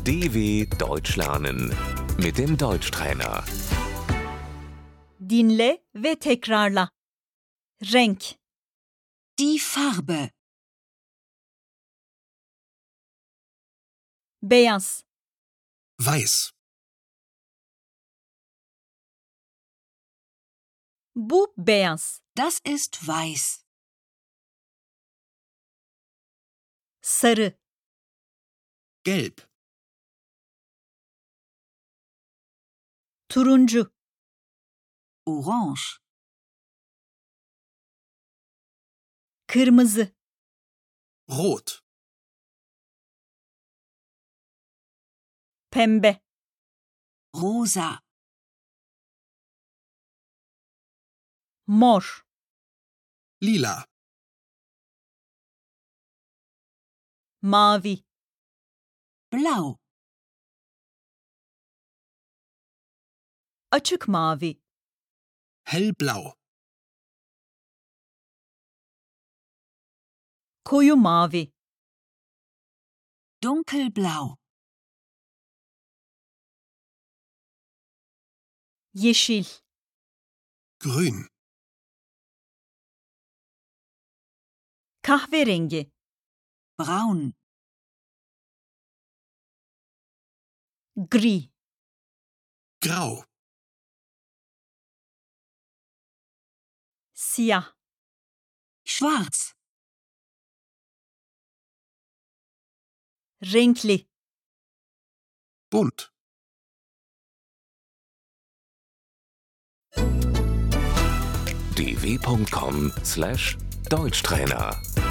DW Deutsch lernen mit dem Deutschtrainer. Dinle ve tekrarla. Renk, Die Farbe. beyaz, Weiß. bu beyaz, Das ist weiß. sarı, Gelb. turuncu, Orange. kırmızı, Rot. pembe, Rosa. mor, Lila. mavi, Blau. açık mavi, Hellblau. koyu mavi, Dunkelblau. yeşil, Grün. kahverengi, Braun. gri, Grau. siyah, Schwarz. renkli, Bunt. dw.com/Deutschtrainer